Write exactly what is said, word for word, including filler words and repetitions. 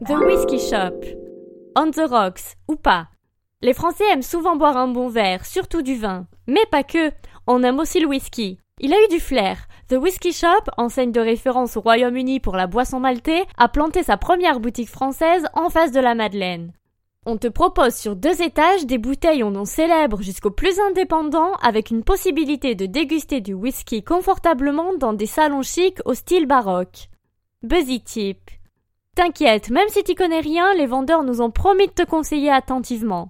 The Whisky Shop. On the rocks, ou pas. Les Français aiment souvent boire un bon verre, surtout du vin. Mais pas que, on aime aussi le whisky. Il a eu du flair. The Whisky Shop, enseigne de référence au Royaume-Uni pour la boisson maltais, a planté sa première boutique française en face de la Madeleine. On te propose sur deux étages des bouteilles au nom célèbre jusqu'aux plus indépendants avec une possibilité de déguster du whisky confortablement dans des salons chics au style baroque. Buzzy Tip. T'inquiète, même si t'y connais rien, les vendeurs nous ont promis de te conseiller attentivement.